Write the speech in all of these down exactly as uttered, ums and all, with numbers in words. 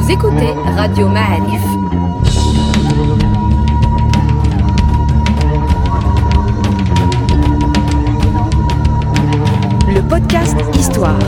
Vous écoutez Radio Ma'arif. Le podcast Histoire.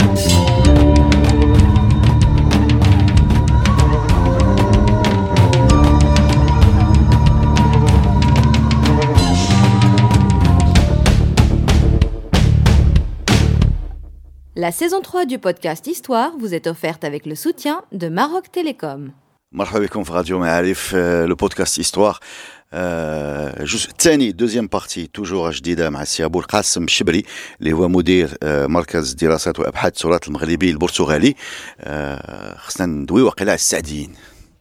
La saison trois du podcast Histoire vous est offerte avec le soutien de Maroc Télécom. مرحبا بكم في راديو معارف لو بودكاست استوار الجزء الثاني دوزيام بارتي توجور جديده مع السي ابو القاسم الشبري اللي هو مدير مركز دراسات وابحاث التراث المغربي البرتغالي. خصنا ندوي واقيلا على السعديين.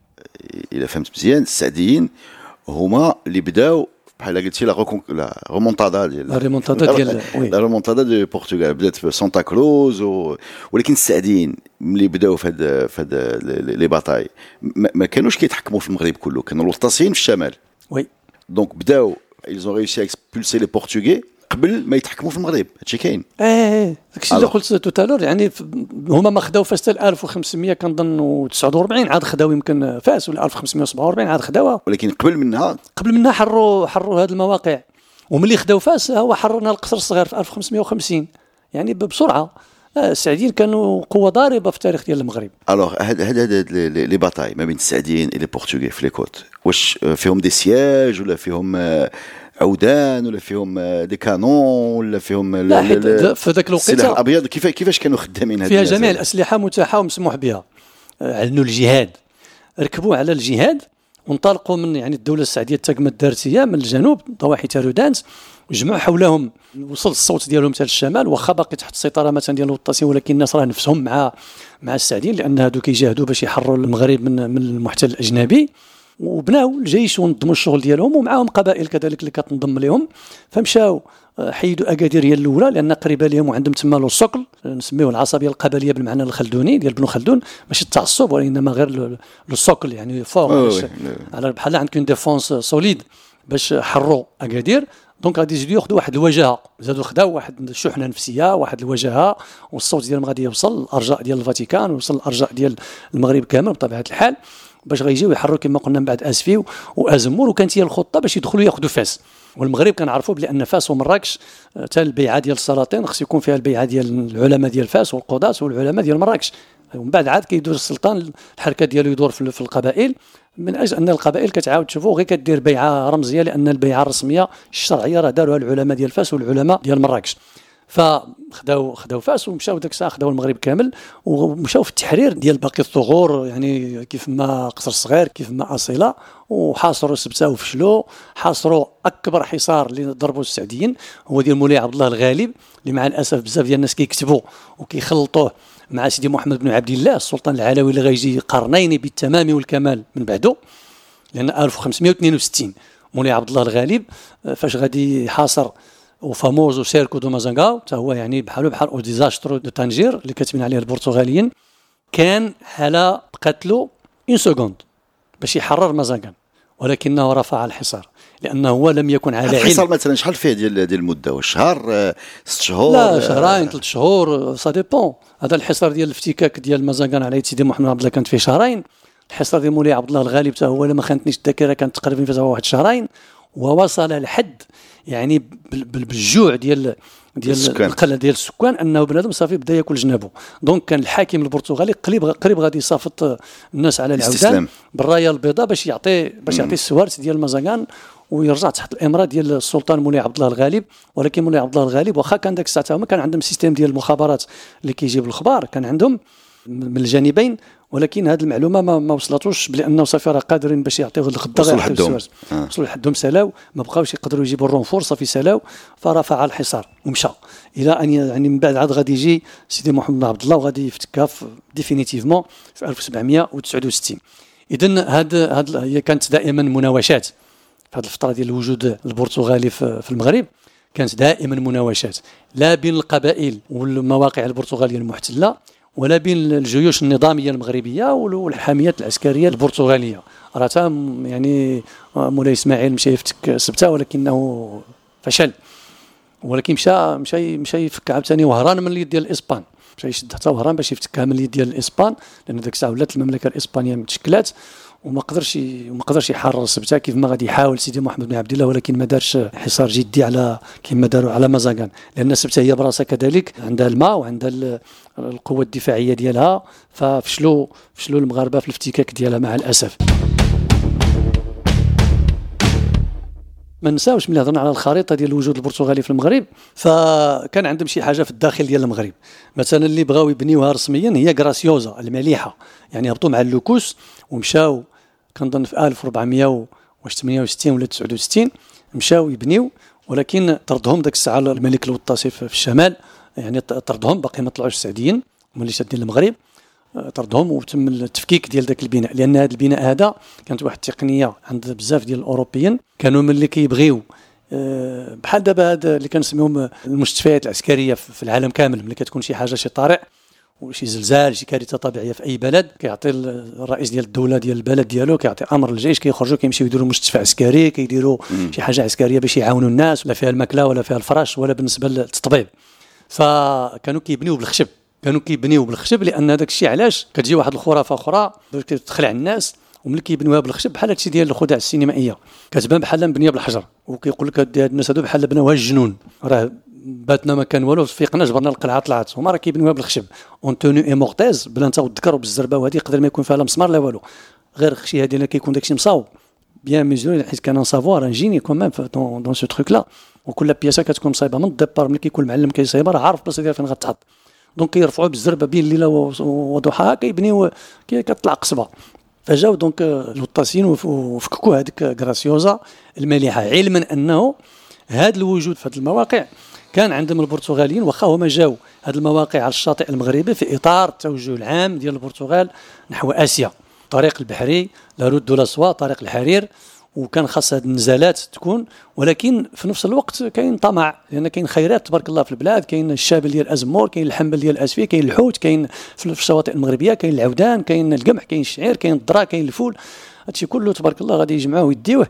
الا فهمت مزيان السعديين هما اللي بداو بحال قلتي لا لا ريمونتادا ديال لا ريمونتادا ديال وي لا ريمونتادا ديال البرتغال بدات في سانتا كروز و... ولكن السعديين ملي بداو في هاد في هاد لي باتاي ما, ما كانوش كيتحكموا في المغرب كله، كانوا الوطاسيين في الشمال. وي دونك بداو ils ont réussi à expulser les portugais قبل ما يتحكموا في المغرب. هادشي كاين. اه داكشي اللي قلت توتالور، يعني هما ما خداو فاس حتى ألف وخمسمية كنظن وتسعة وأربعين عاد خداو يمكن فاس، ولا ألف وخمسمية وسبعة وأربعين عاد خداوها، ولكن قبل منها قبل منها حروا حروا هذه المواقع. وملي خداو فاس هو حررنا القصر الصغير في ألف وخمسمية وخمسين، يعني بسرعه. السعديين كانوا قوه ضاربه في التاريخ ديال المغرب. الوغ هاد هاد هاد لي باتاي ما بين السعديين و لي بورتوغي في لي كوت، واش فيهم دي سياج ولا فيهم عودان ولا فيهم دي كانون ولا فيهم لا حيت في ذاك الوقت السلاح الابيض كيف كيفاش كانوا خدامين؟ هاد فيها جميع الاسلحه متاحه ومسموح بها. اعلنوا الجهاد، ركبوا على الجهاد وانطلقوا من يعني الدوله السعديه التاكمه الدارتيه من الجنوب ضواحي تارودانت، وجمعوا حولهم، وصل الصوت ديالهم حتى للشمال، واخا باقي تحت السيطره مثلا ديال الوطاسيين، ولكن الناس راه نفسهم مع مع السعديين، لان هادو كيجاهدوا باش يحرروا المغرب من من المحتل الاجنبي. وبناو الجيش ونظموا الشغل ديالهم، ومعاهم قبائل كذلك اللي كتنضم لهم. فمشاو حيدوا اكادير هي الاولى لان قريبه لهم، وعندهم تما له السقل، نسميوه العصبيه القبليه بالمعنى الخلدوني ديال ابن خلدون، ماشي التعصب وانما غير السقل، يعني فوق على بحال عندكم ديفونس سوليد باش حروا اكادير. دونك غادي يجيو ياخذوا واحد الوجهه، زادوا خداو واحد الشحنه نفسيه، واحد الوجهه، والصوت ديالهم غادي يوصل الارجاء ديال الفاتيكان ويوصل الارجاء ديال المغرب كامل بطبيعه الحال، باش غيجيو يحرروا كما قلنا من بعد اسفي وازمور. وكانت هي الخطه باش يدخلوا ياخذوا فاس. والمغرب كنعرفوا بان فاس ومراكش حتى البيعه ديال السلاطين خص يكون فيها البيعه ديال العلماء ديال فاس والقضاة والعلماء ديال مراكش. ومن بعد عاد كيدور السلطان الحركه ديالو يدور في القبائل، من اجل ان القبائل كتعاود تشوفوا غير كدير بيعه رمزيه، لان البيعه الرسميه الشرعيه راه داروها العلماء ديال فاس والعلماء ديال مراكش. فخداو خداو فاس ومشاو داك الساعه خداو المغرب كامل، ومشاو في التحرير ديال باقي الثغور، يعني كيف ما قصر الصغير كيف ما اصيله، وحاصروا سبته وفشلوا. حاصروا اكبر حصار اللي ضربوا السعديين هو ديال مولاي عبد الله الغالب، اللي مع الاسف بزاف ديال الناس كيكتبوا وكيخلطوه مع سيدي محمد بن عبد الله السلطان العلوي اللي غيجي قرنين بالتمام والكمال من بعده، لان ألف وخمسمية واثنين وستين مولاي عبد الله الغالب فاش غادي يحاصر وفاموز وسيركو دو مازانغاو، حتى هو يعني بحالو بحال او ديزاسترو دو طنجير اللي كاتبين عليه البرتغاليين، كان على قتلو اون سكوند باش يحرر مازانغان، ولكنه رفع الحصار لانه هو لم يكن على علم. الحصار مثلا شحال فيه ديال ديال المده؟ واش شهر ست شهور؟ لا شهرين ثلاث شهور سا ديبون. هذا الحصار ديال الافتكاك ديال مازانغان على يد سيدي محمد عبد الله كانت فيه شهرين. الحصار ديال مولاي عبد الله الغالب حتى هو لما خانتنيش الذاكره كانت تقريبا فيه واحد شهرين، ووصل لحد يعني بالجوع ديال ديال القله ديال السكان انه بنادم صافي بدا ياكل جنابه. دونك كان الحاكم البرتغالي قريب قريب غادي يصافط الناس على العودان بالرايه البيضاء باش يعطي باش يعطي السوارت ديال مازاغان ويرجع تحت الامره ديال السلطان مولاي عبد الله الغالب. ولكن مولاي عبد الله الغالب واخا كان داك الساعه هما كان عندهم سيستيم ديال المخابرات اللي كيجيب الخبار، كان عندهم من الجانبين، ولكن هذه المعلومه ما, ما وصلتوش بانه صافي راه قادرين باش يعطيوه الخضر وصلوا لحدهم وصلوا لحدهم سلاو، ما بقاوش يقدروا يجيبوا الرونفور، صافي سلاو فرفع الحصار ومشى الى ان يعني من بعد عاد غادي يجي سيدي محمد بن عبد الله وغادي يفتكها ديفينيتيفمون في ألف وسبعمية وتسعة وستين. اذا هاد هاد هي كانت دائما مناوشات في هذه الفتره ديال الوجود البرتغالي في المغرب، كانت دائما مناوشات لا بين القبائل والمواقع البرتغاليه المحتله ولا بين الجيوش النظاميه المغربيه والحاميات العسكريه البرتغاليه. راه يعني مولاي اسماعيل مشى يفتك سبته ولكنه فشل، ولكن مشى مشى مشى يفك عاوتاني وهران من اليد ديال الاسبان. مشى يشد حتى وهران باش يفتك كامل اليد ديال الاسبان، لان ديك الساعه ولات المملكه الاسبانيه متشكلات وما قدرش وما قدرش يحرر سبته كيف ما غادي يحاول سيدي محمد بن عبد الله، ولكن ما دارش حصار جدي على كما داروا على مازاغان، لان سبته هي براسها كذلك عندها الماء وعندها القوه الدفاعيه ديالها، ففشلوا فشلوا المغاربه في الافتكاك ديالها مع الاسف. ما نساوش ملي هضرنا على الخريطه ديال الوجود البرتغالي في المغرب، فكان عندهم شي حاجه في الداخل ديال المغرب مثلا اللي بغاو يبنيوها رسميا هي غراسيوزا المليحه، يعني هبطوا مع اللوكوس ومشاو كنظن في ألف وأربعمائة وثمانية وستين ولا تسعة وستين مشاو يبنيو، ولكن طردهم داك الساعه الملك الوطاسي في الشمال، يعني طردهم باقي ما طلعوش السعديين ملي شادين المغرب، طردهم وتم التفكيك ديال ذاك البناء، لان هذا البناء هذا كانت واحد التقنيه عند بزاف ديال الاوروبيين كانوا ملي كيبغيو بحال دابا هذا اللي كنسميهم المستشفيات العسكريه في العالم كامل، ملي كتكون شي حاجه شي طارئ وشي زلزال شي كارثه طبيعيه في اي بلد، كيعطي الرئيس ديال الدوله ديال البلد ديالو كيعطي امر للجيش كيخرجوا كيمشيو يديروا مستشفى عسكري، كيديروا شي حاجه عسكريه باش يعاونوا الناس، ولا فيها الماكله ولا فيها الفراش ولا بالنسبه للتطبيب، فكانوا كيبنيو بالخشب كانوا كيبنيو بالخشب لان هذاك الشيء علاش كتجي واحد الخرافه اخرى باش تخلع الناس، وملي كيبنيوها بالخشب بحال هادشي ديال الخدع السينمائيه كتبان بحال مبنيه بالحجر، وكيقول لك هاد الناس هادو بحال بناوها الجنون، راه باتنا ما كان والو فيقنا جبرنا القلعه طلعت، هما راه كيبنيوها بالخشب اون تونو اي مورتيز بلا نتا والذكر وبالزربه، وهذه يقدر ما يكون فيها لا مسمار لا والو، غير خشي هذه كيكون داكشي مصاوب بيان ميزوري، حيت كان سافوار ان جيني كومام دون دون سو تروك لا، وكل بياسه كتكون مصايبه من الديبار، ملي كيكون المعلم كيصايبها راه عارف البلاصه ديالها فين غتحط، دونك كيرفعوا بالزربه بين الليله وضحاها كيبنيو كتطلع قصبه، فجاو دونك الوطاسيين وفككوا هذيك غراسيوزا المليحه، علما انه هذا الوجود في هذه المواقع كان عندهم البرتغاليين، واخا هما جاو هذه المواقع على الشاطئ المغربي في اطار التوجه العام ديال البرتغال نحو اسيا، طريق البحري لا رود دو لا سوا، طريق الحرير، وكان خاص هذه النزالات تكون، ولكن في نفس الوقت كاين طمع، لان كاين خيرات تبارك الله في البلاد، كاين الشابل ديال ازمور، كاين الحنبل ديال اسفي، كاين الحوت، كاين في الشواطئ المغربيه كاين العودان، كاين القمح، كاين الشعير، كاين الذره، كاين الفول، هادشي كله تبارك الله غادي يجمعوه ويديوه،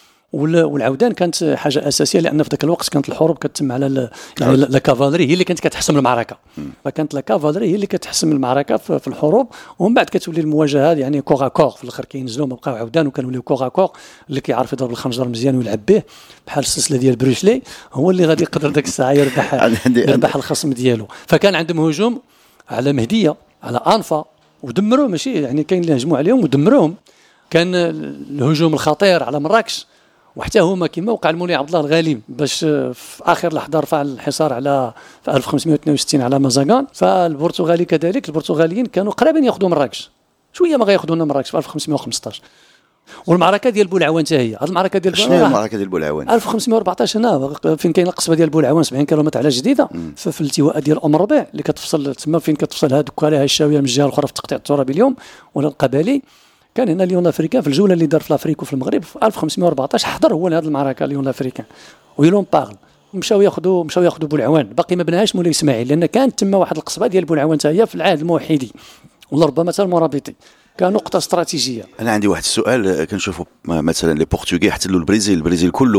والعودان كانت حاجه اساسيه، لان في ذاك الوقت كانت الحروب كتتم على يعني لا كافالري هي اللي كانت كتحسم المعركه، فكانت لا كافالري هي اللي كتحسم المعركه في الحروب، ومن بعد كتولي المواجهه يعني كوغا كوغ، في الاخر كينزلوا ما بقاو عودان وكانوليو كوغا كوغ، اللي كيعرف يضرب الخنجر مزيان ويلعب به بحال السلسله ديال بروسلي هو اللي غادي يقدر ذاك الساعه يربح يربح الخصم ديالو، فكان عندهم هجوم على مهديه على انفا ودمروه، ماشي يعني كاين اللي هجموا عليهم ودمروهم، كان الهجوم الخطير على مراكش، وحتى هما كما وقع المولي عبد الله الغالي باش في اخر لحظه رفع الحصار على في ألف وخمسمائة واثنين وستين على مازاغان، فالبرتغالي كذلك البرتغاليين كانوا قريبين ياخذوا مراكش، شويه ما غياخذوا لنا مراكش في ألف وخمسمائة وخمسطاش، والمعركه ديال بولعوان حتى هي، هذه المعركه ديال شنو هي المعركه ديال بولعوان ألف وخمسمائة وأربعطاش هنا فين كاين القصبه ديال بولعوان سبعين كيلومتر على جديده، في الالتواء ديال ام ربيع اللي كتفصل تما فين كتفصل هذوك عليها الشاويه من الجهه الاخرى في التقطيع الترابي اليوم ولا القبلي، كان هنا ليون افريكان في الجوله اللي دار في الافريك وفي المغرب في ألف وخمسمائة وأربعطاش حضر هو لهذه المعركه ليون افريكان ويلون باغل، مشاو ياخذوا مشاو ياخذوا بولعوان، باقي ما بناهاش مولاي اسماعيل، لان كانت تما واحد القصبه ديال بولعوان حتى هي في العهد الموحدي ولا ربما حتى المرابطي، كنقطه استراتيجيه. انا عندي واحد السؤال، كنشوفوا مثلا لي بورتوغي احتلوا البرازيل البرازيل كله،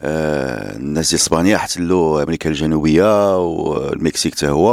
آه الناس ديال اسبانيا احتلوا امريكا الجنوبيه والمكسيك حتى هو،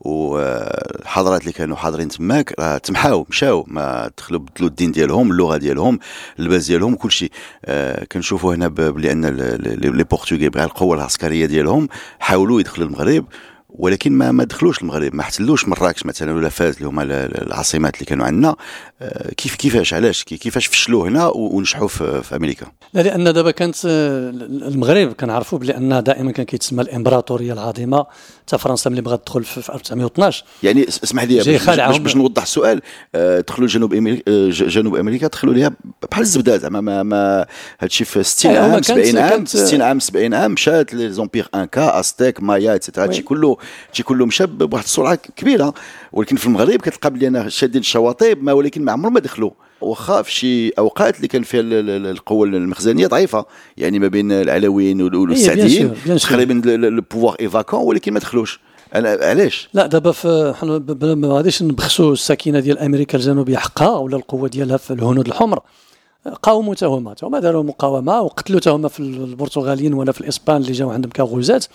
والحضارات اللي كانوا حاضرين تماك راه تمحاو مشاو، ما دخلوا بدلوا الدين ديالهم اللغه ديالهم اللباس ديالهم كل شيء. آه كنشوفوا هنا بان لي بورتوغي بغاو القوه العسكريه ديالهم حاولوا يدخلوا المغرب، ولكن ما ما دخلوش المغرب، ما احتلوش مراكش مثلا ولا فاز اللي هما العاصمات اللي كانوا عندنا. كيف كيفاش علاش كيفاش فشلوا هنا ونجحوا في, في امريكا؟ لا لان دابا كانت المغرب كنعرفوا بان دائما كان كيتسمى الامبراطوريه العظيمه، حتى فرنسا ملي بغات تدخل في ألف وتسعمائة واثناش. يعني اسمح لي باش, باش, باش نوضح السؤال، دخلوا جنوب امريكا جنوب امريكا دخلوا ليها بحال الزبده زعما ما, ما هادشي في ستين عام سبعين عام ستين عام سبعين عام مشات لي زومبير انكا استيك مايا ايتترا، هادشي كله هادشي كله مشى بواحد السرعه كبيره، ولكن في المغرب كتلقى بلي انا شادين الشواطئ ما ولكن ما عمرهم ما دخلوا، واخا في شي اوقات اللي كان فيها القوه المخزنيه ضعيفه، يعني ما بين العلويين والسعديين تقريبا البوفوار ايفاكون، ولكن ما دخلوش. علاش؟ لا دابا ما غاديش نبخسوا السكينه ديال امريكا الجنوبيه حقها ولا القوه ديالها في الهنود الحمر، قاوموا حتى هما هما داروا مقاومه وقتلوا حتى هما في البرتغاليين ولا في الاسبان اللي جاوا عندهم كغزات،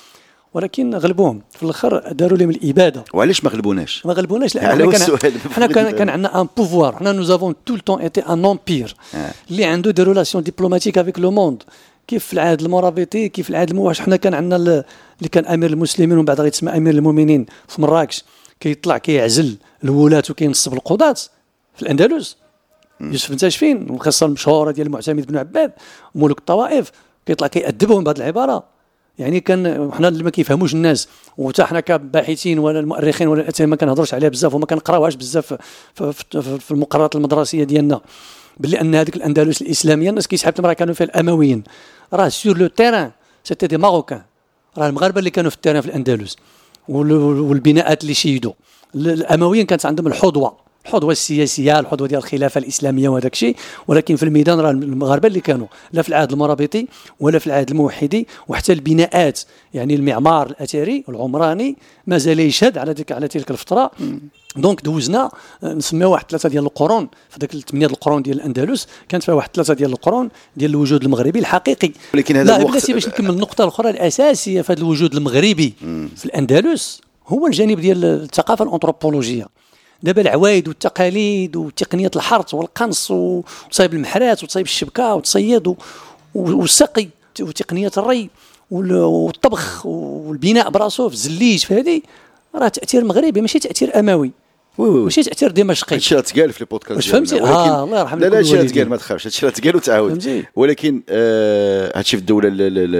ولكن غلبوهم في الاخر، داروا لهم الاباده. وعلاش ما غلبوناش؟ ما غلبوناش لان حنا كان كان عندنا ان بوفوار، حنا نو افون تو لو طون ايتي ان امبير اللي عنده دي ريلاسيون ديبلوماتيك افيك لو موند، كيف في العهد المرابطي، كيف العهد الموحد. حنا كان عندنا اللي كان امير المسلمين ومن بعد غيتسمى امير المؤمنين في مراكش، كيطلع كيعزل الولاة وكينصب القضاة في الاندلس. يوسف بن تاشفين، القصه المشهوره ديال المعتمد بن عباد ملوك الطوائف، كيطلع كيأدبهم بهذه العباره. يعني كان حنا اللي ما كيفهموش الناس، وحتى حنا كباحثين ولا المؤرخين ولا الاتهام ما كنهضروش عليها بزاف وما كنقراوهاش بزاف في, في, في المقررات المدرسيه ديالنا، باللي ان هذيك الاندلس الاسلاميه الناس كيسحبوا راه كانوا فيها الامويين، راه سور لو تيران سيتي دي ماروكان، راه المغاربه اللي كانوا في التيران في الاندلس والبناءات اللي شيدوا. الامويين كانت عندهم الحظوه الحظوه السياسيه، الحظوه ديال الخلافه الاسلاميه وهذاك الشيء، ولكن في الميدان راه المغاربه اللي كانوا لا في العهد المرابطي ولا في العهد الموحدي، وحتى البناءات يعني المعمار الاثري والعمراني مازال يشهد على ديك على تلك الفتره. دونك دوزنا نسميو واحد ثلاثه ديال القرون، في داك الثمانيه القرون ديال الاندلس كانت فيها واحد ثلاثه ديال القرون ديال الوجود المغربي الحقيقي. ولكن هذا الوقت بلاتي باش نكمل النقطه الاخرى الاساسيه في هذا الوجود المغربي مم. في الاندلس هو الجانب ديال الثقافه الانثروبولوجيه. دابا العوايد والتقاليد وتقنيه الحرث والقنص وتصايب المحرات وتصايب الشبكه وتصيد والسقي وتقنيه الري والطبخ والبناء براسو في الزليج، في هذه راه تاثير مغربي ماشي تاثير اموي، ماشي تاثير دمشقي. هادشي راه تقال في البودكاست واش فهمتي؟ اه الله يرحم لا لا هادشي راه تقال، ما تخافش، هادشي راه تقال وتعاود. ولكن آه هادشي في الدوله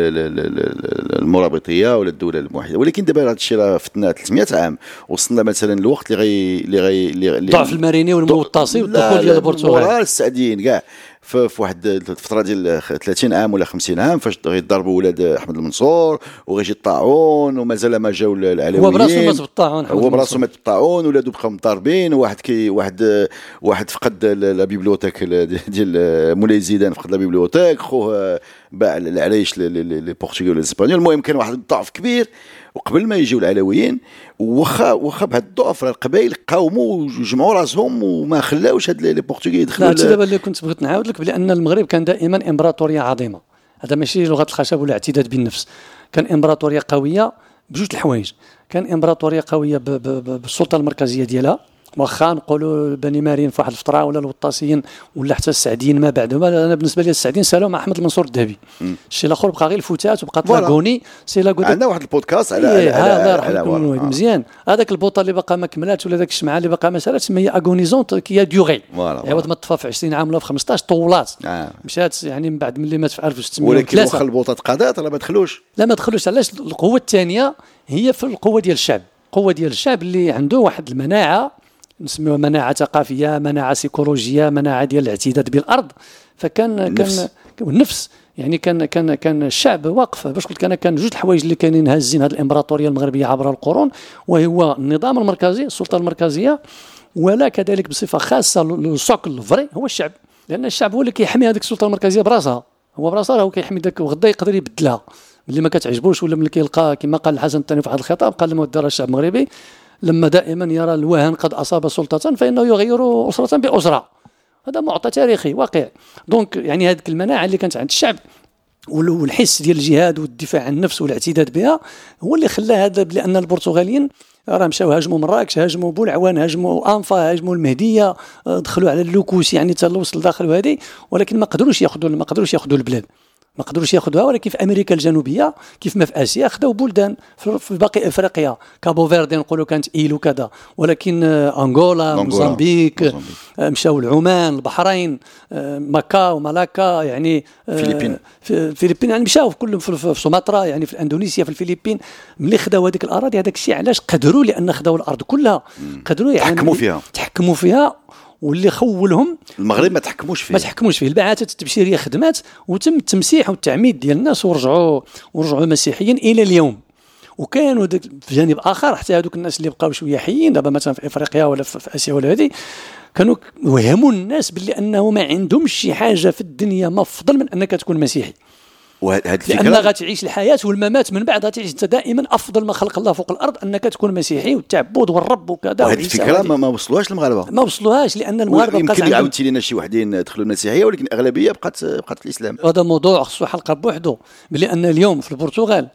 المرابطيه ولا الدوله الموحده، ولكن دابا هادشي راه فتنا ثلاثمائة عام، وصلنا مثلا الوقت اللي غي اللي غي اللي ضعف الماريني والمغطاسي والدخول ديال البرتغال ورا السعديين كاع في واحد الفتره ديال ثلاثين عام ولا خمسين عام، فاش غيضربوا ولاد احمد المنصور وغيجي الطاعون ومازال ما جاو العلويين، هو براسو مات بالطاعون، هو براسو مات بالطاعون، ولادو بقاو مضاربين، وواحد كي واحد واحد فقد لا بيبليوتيك ديال مولاي زيدان، فقد لا بيبليوتيك، خوه باع العرايش لي بورتوغال والاسبانيول. المهم كان واحد الضعف كبير، وقبل ما يجيو العلويين واخا واخا بهذا الضعف راه القبائل قاوموا وجمعوا راسهم وما خلاوش هاد لي بورتوغي يدخلوا. لا دابا اللي كنت بغيت نعاود لك بان المغرب كان دائما امبراطوريه عظيمه، هذا ماشي لغه الخشب ولا اعتداد بالنفس، كان امبراطوريه قويه بجوج الحوايج. كان امبراطوريه قويه بالسلطه المركزيه ديالها، واخا نقولوا بني مارين في واحد الفتره ولا الوطاسيين ولا حتى السعديين ما بعدهم. انا بالنسبه لي السعديين سالوا مع احمد المنصور الذهبي، الشيء الاخر بقى غير الفتات وبقى لاغوني سي لاغوني. عندنا واحد البودكاست على على على على مزيان. هذاك البوطه اللي باقا ما كملاتش ولا داك الشمعه اللي باقا ما سالاتش هي اغونيزونت كي ديوغي، عوض ما طفى في عشرين عام ولا في خمسطاش طولات آه. مشات يعني من بعد ملي مات في ألف وستمائة وثلاثة. ولكن واخا البوطه تقادات راه ما دخلوش، لا ما دخلوش. علاش؟ القوه الثانيه هي في القوه ديال الشعب، القوه ديال الشعب اللي عنده واحد المناعه نسميوها مناعه ثقافيه، مناعه سيكولوجيه، مناعه ديال الاعتداد بالارض. فكان النفس. كان والنفس يعني كان كان كان الشعب واقف. باش قلت انا كان جوج الحوايج اللي كانين هازين هذه الامبراطوريه المغربيه عبر القرون، وهو النظام المركزي، السلطه المركزيه، ولا كذلك بصفه خاصه السوكل الفري هو الشعب، لان الشعب هو اللي كيحمي هذيك السلطه المركزيه براسها، هو براسها هو كيحمي ذاك، وغدا يقدر يبدلها اللي ما كتعجبوش، ولا ملي كيلقى كما قال الحسن الثاني في واحد الخطاب، قال لما دار الشعب المغربي لما دائما يرى الوهن قد أصاب سلطة فإنه يغير أسرة بأسرة. هذا معطى تاريخي واقع. دونك يعني هذه المناعة اللي كانت عند الشعب والحس ديال الجهاد والدفاع عن النفس والاعتداد بها هو اللي خلى هذا، لأن البرتغاليين راه مشاو هاجموا مراكش، هاجموا بولعوان، هاجموا أنفا، هاجموا المهدية، دخلوا على اللوكوس يعني حتى وصل داخل وهذه، ولكن ما قدروش ياخذوا ما قدروش ياخذوا البلاد، ما قدروش ياخذوها. ولكن في امريكا الجنوبيه كيف ما في اسيا خداو بلدان في باقي افريقيا، كابو فيردي نقولوا كانت ايل وكذا، ولكن انغولا، موزمبيق، مشاو العمان، البحرين، ماكاو، مالاكا، يعني الفلبين في الفلبين يعني مشاو كلهم في سومطرة، يعني في اندونيسيا، في الفلبين. ملي خداو هذيك الاراضي هذاك الشيء علاش قدروا؟ لان خداو الارض كلها، قدروا يعني تحكموا فيها تحكموا فيها واللي خولهم المغرب ما تحكموش فيه ما تحكموش فيه. البعثات التبشيريه خدمات وتم التمسيح والتعميد ديال الناس، ورجعوا ورجعوا مسيحيين الى اليوم. وكانوا في جانب اخر حتى هذوك الناس اللي بقاو شويه حيين دابا مثلا في افريقيا ولا في اسيا ولا هذه، كانوا وهموا الناس باللي انه ما عندهمش شي حاجه في الدنيا ما افضل من انك تكون مسيحي، لأن غتعيش الحياة والممات من بعد غتعيش انت دائما افضل ما خلق الله فوق الارض انك تكون مسيحي والتعبد والرب وكذا. وهذه الفكره ما, ما وصلوهاش المغاربه، ما وصلوهاش لان المغاربه يمكن اللي عاودتي لنا شي وحدين دخلوا المسيحيه، ولكن الاغلبيه بقات بقات في الاسلام. هذا موضوع خصو حلقه بوحده، بلي ان اليوم في البرتغال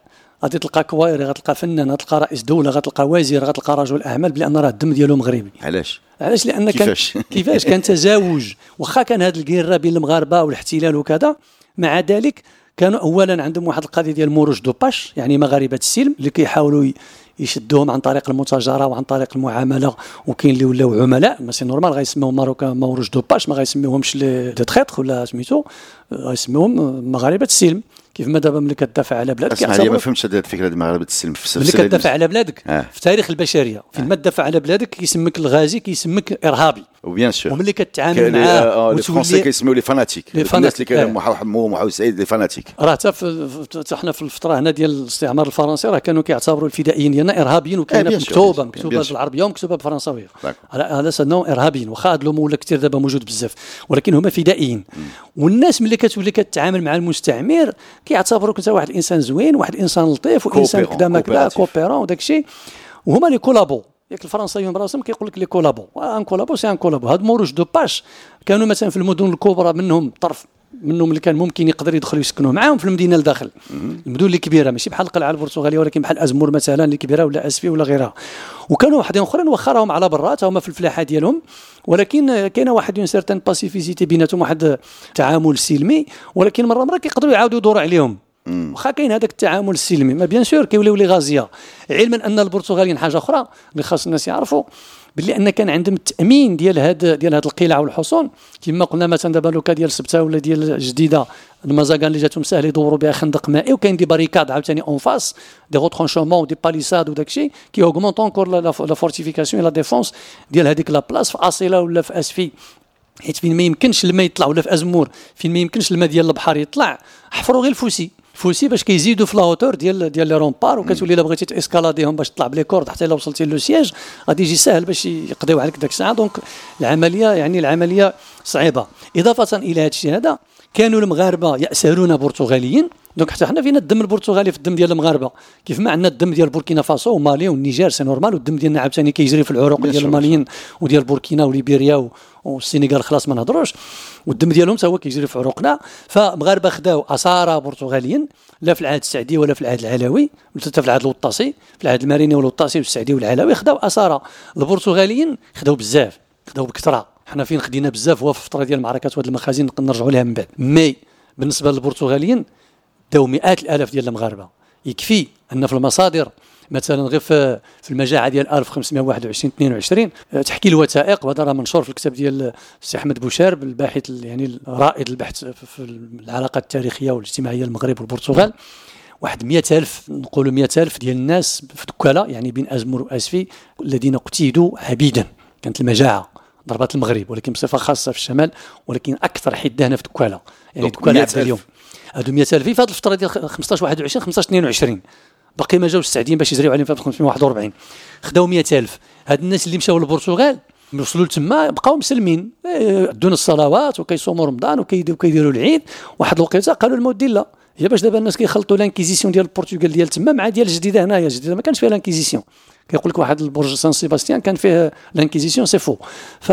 غادي تلقى كوائري، غتلقى فنان، غتلقى رئيس دوله، غتلقى وزير، غتلقى رجل اعمال، بان راه الدم ديالو مغربي. علاش علاش لان كيفاش كان كيفاش كان تزاوج، واخا كان هذا الكيره بين المغاربه والاحتلال وكذا، مع ذلك كانوا اولا عندهم واحد القضيه ديال موروج دو باش، يعني مغاربه السلم اللي كيحاولوا يشدوهم عن طريق المتاجره وعن طريق المعامله، وكاين اللي ولاو عملاء ماشي نورمال غيسميوهم ماروكان موروج دو باش، ما غيسميوهمش لي دي تريتر ولا سميتو، غيسميوهم مغاربه السلم. كيف ما دابا ملي كتدافع على بلادك اسمع لي ما فهمتش هذه الفكره ديال مغاربه السلم في ملي كتدافع على بلادك آه. في تاريخ البشريه فين ما تدافع على بلادك كيسمك الغازي، كيسمك ارهابي، وبيان سور. وملي كتعامل معاه الفرنسي كيسميو لي فاناتيك، الناس اللي كانوا محمود محمود سعيد لي فاناتيك. راه حتى حنا في الفتره هنا ديال الاستعمار الفرنسي راه كانوا كيعتبروا الفدائيين ديالنا ارهابيين، وكاينه آه مكتوبه مكتوبه بالعربيه ومكتوبه بالفرنساويه على سنهم ارهابيين، واخا هذا ولا كثير دابا موجود بزاف، ولكن هما فدائيين. والناس ملي كتولي كتعامل مع المستعمر كيعتبروك انت واحد الانسان زوين، واحد الانسان لطيف، وانسان كذا ما كذا كوبيرون وداك الشيء، وهما لي كولابو. ياك الفرنسيين براسهم كيقول لك لي كولابو، ان كولابو سي ان كولابو. هاد موروج دو باش كانوا مثلا في المدن الكبرى منهم طرف منهم اللي كان ممكن يقدر يدخلوا يسكنوا معاهم في المدينه الداخل، المدن اللي كبيره ماشي بحال القلعه البرتغاليه، ولكن بحال ازمور مثلا اللي كبيره ولا اسفي ولا غيرها. وكانوا وحدين اخرين واخا راهم على برات هما في الفلاحه ديالهم، ولكن كاينه واحد اون سيرتان باسيفيسيتي بيناتهم، واحد تعامل سلمي، ولكن مره مره كيقدروا يعاودوا يدوروا عليهم. واخا كاين هذاك التعامل السلمي، ما بيان سور كيوليو لي غازيه. علما ان البرتغاليين حاجه اخرى اللي خاص الناس يعرفوا، باللي ان كان عندهم التامين ديال هاد ديال هاد القلاع والحصون، كما قلنا مثلا دابا لوكا ديال سبته ولا ديال جديده المزاقان اللي جاتهم ساهل يدوروا بها خندق مائي، وكاين دي باريكاد عاوتاني اون فاس دي روترونشومون ودي باليساد وداك الشيء كي اوغمونط اونكور لا فورتيفيكاسيون لا ديفونس ديال هذيك لا بلاص في اصيله ولا في اسفي، حيت فين ما يمكنش الماء يطلع، ولا في ازمور فين ما يمكنش الماء ديال البحر يطلع، حفروا غير الفوسي فوسي باش كيزيدوا في لاوتور ديال ديال لي رومبار، وكتولي الا بغيتي تاسكالاديهم باش تطلع بلي كورد حتى الا وصلتي لو سياج غادي يجي ساهل باش يقضيو عليك داك الساعه. دونك العمليه يعني العمليه صعيبه. اضافه الى هذا الشيء هذا كانوا المغاربه يأسرون برتغاليين، دونك حتى حنا فينا الدم البرتغالي في الدم ديال المغاربه، كيف ما عندنا الدم ديال بوركينا فاسو ومالي والنيجر سي نورمال، والدم ديالنا عاوتاني كيجري في العروق ديال الماليين وديال بوركينا وليبيريا والسينيغال خلاص ما نهضروش، والدم ديالهم حتى هو كيجري في عروقنا. فمغاربه خداو اسارى برتغاليين لا في العهد السعدي ولا في العهد العلوي، ولا حتى في العهد الوطاسي، في العهد الماريني والوطاسي والسعدي والعلوي خداو اسارى. البرتغاليين خداو بزاف، خداو بكثره. حنا فين خدينا بزاف هو في الفتره ديال المعركات وهاد المخازن نرجعوا لها من بعد. مي بالنسبه للبرتغاليين داو مئات الالاف ديال المغاربه. يكفي ان في المصادر مثلا غير في المجاعه ديال ألف وخمسمائة وواحد وعشرين اثنين وعشرين تحكي الوثائق، وهذا راه منشور في الكتاب ديال السي احمد بوشارب الباحث يعني رائد البحث في العلاقات التاريخيه والاجتماعيه المغرب والبرتغال. واحد مئة ألف نقولوا مئة ألف ديال الناس في دكاله يعني بين ازمر واسفي الذين قتيدوا عبيدا. كانت المجاعه ضربات المغرب ولكن بصفه خاصه في الشمال، ولكن اكثر حده هنا في دكاله، يعني دكاله عبد اليوم هادو مئة ألف في هذه الفتره ديال خمسطاش واحد وعشرين خمسطاش اثنين وعشرين باقي ما جاوش السعديين باش يزريو عليهم في خمسمائة وواحد وأربعين. خداو مئة ألف. هاد الناس اللي مشاو للبرتغال وصلوا لتما بقاو مسلمين، دون الصلوات وكيصوموا رمضان وكيديروا العيد. واحد الوقيته قالوا المودي لا، هي باش دابا الناس كيخلطوا لانكيزيسيون ديال البرتغال ديال تما مع ديال الجديده هنايا. الجديده ما كانش فيها لانكيزيسيون، كيقول لك واحد البرج سان سيباستيان كان فيه لانكيزيسيون سي فو.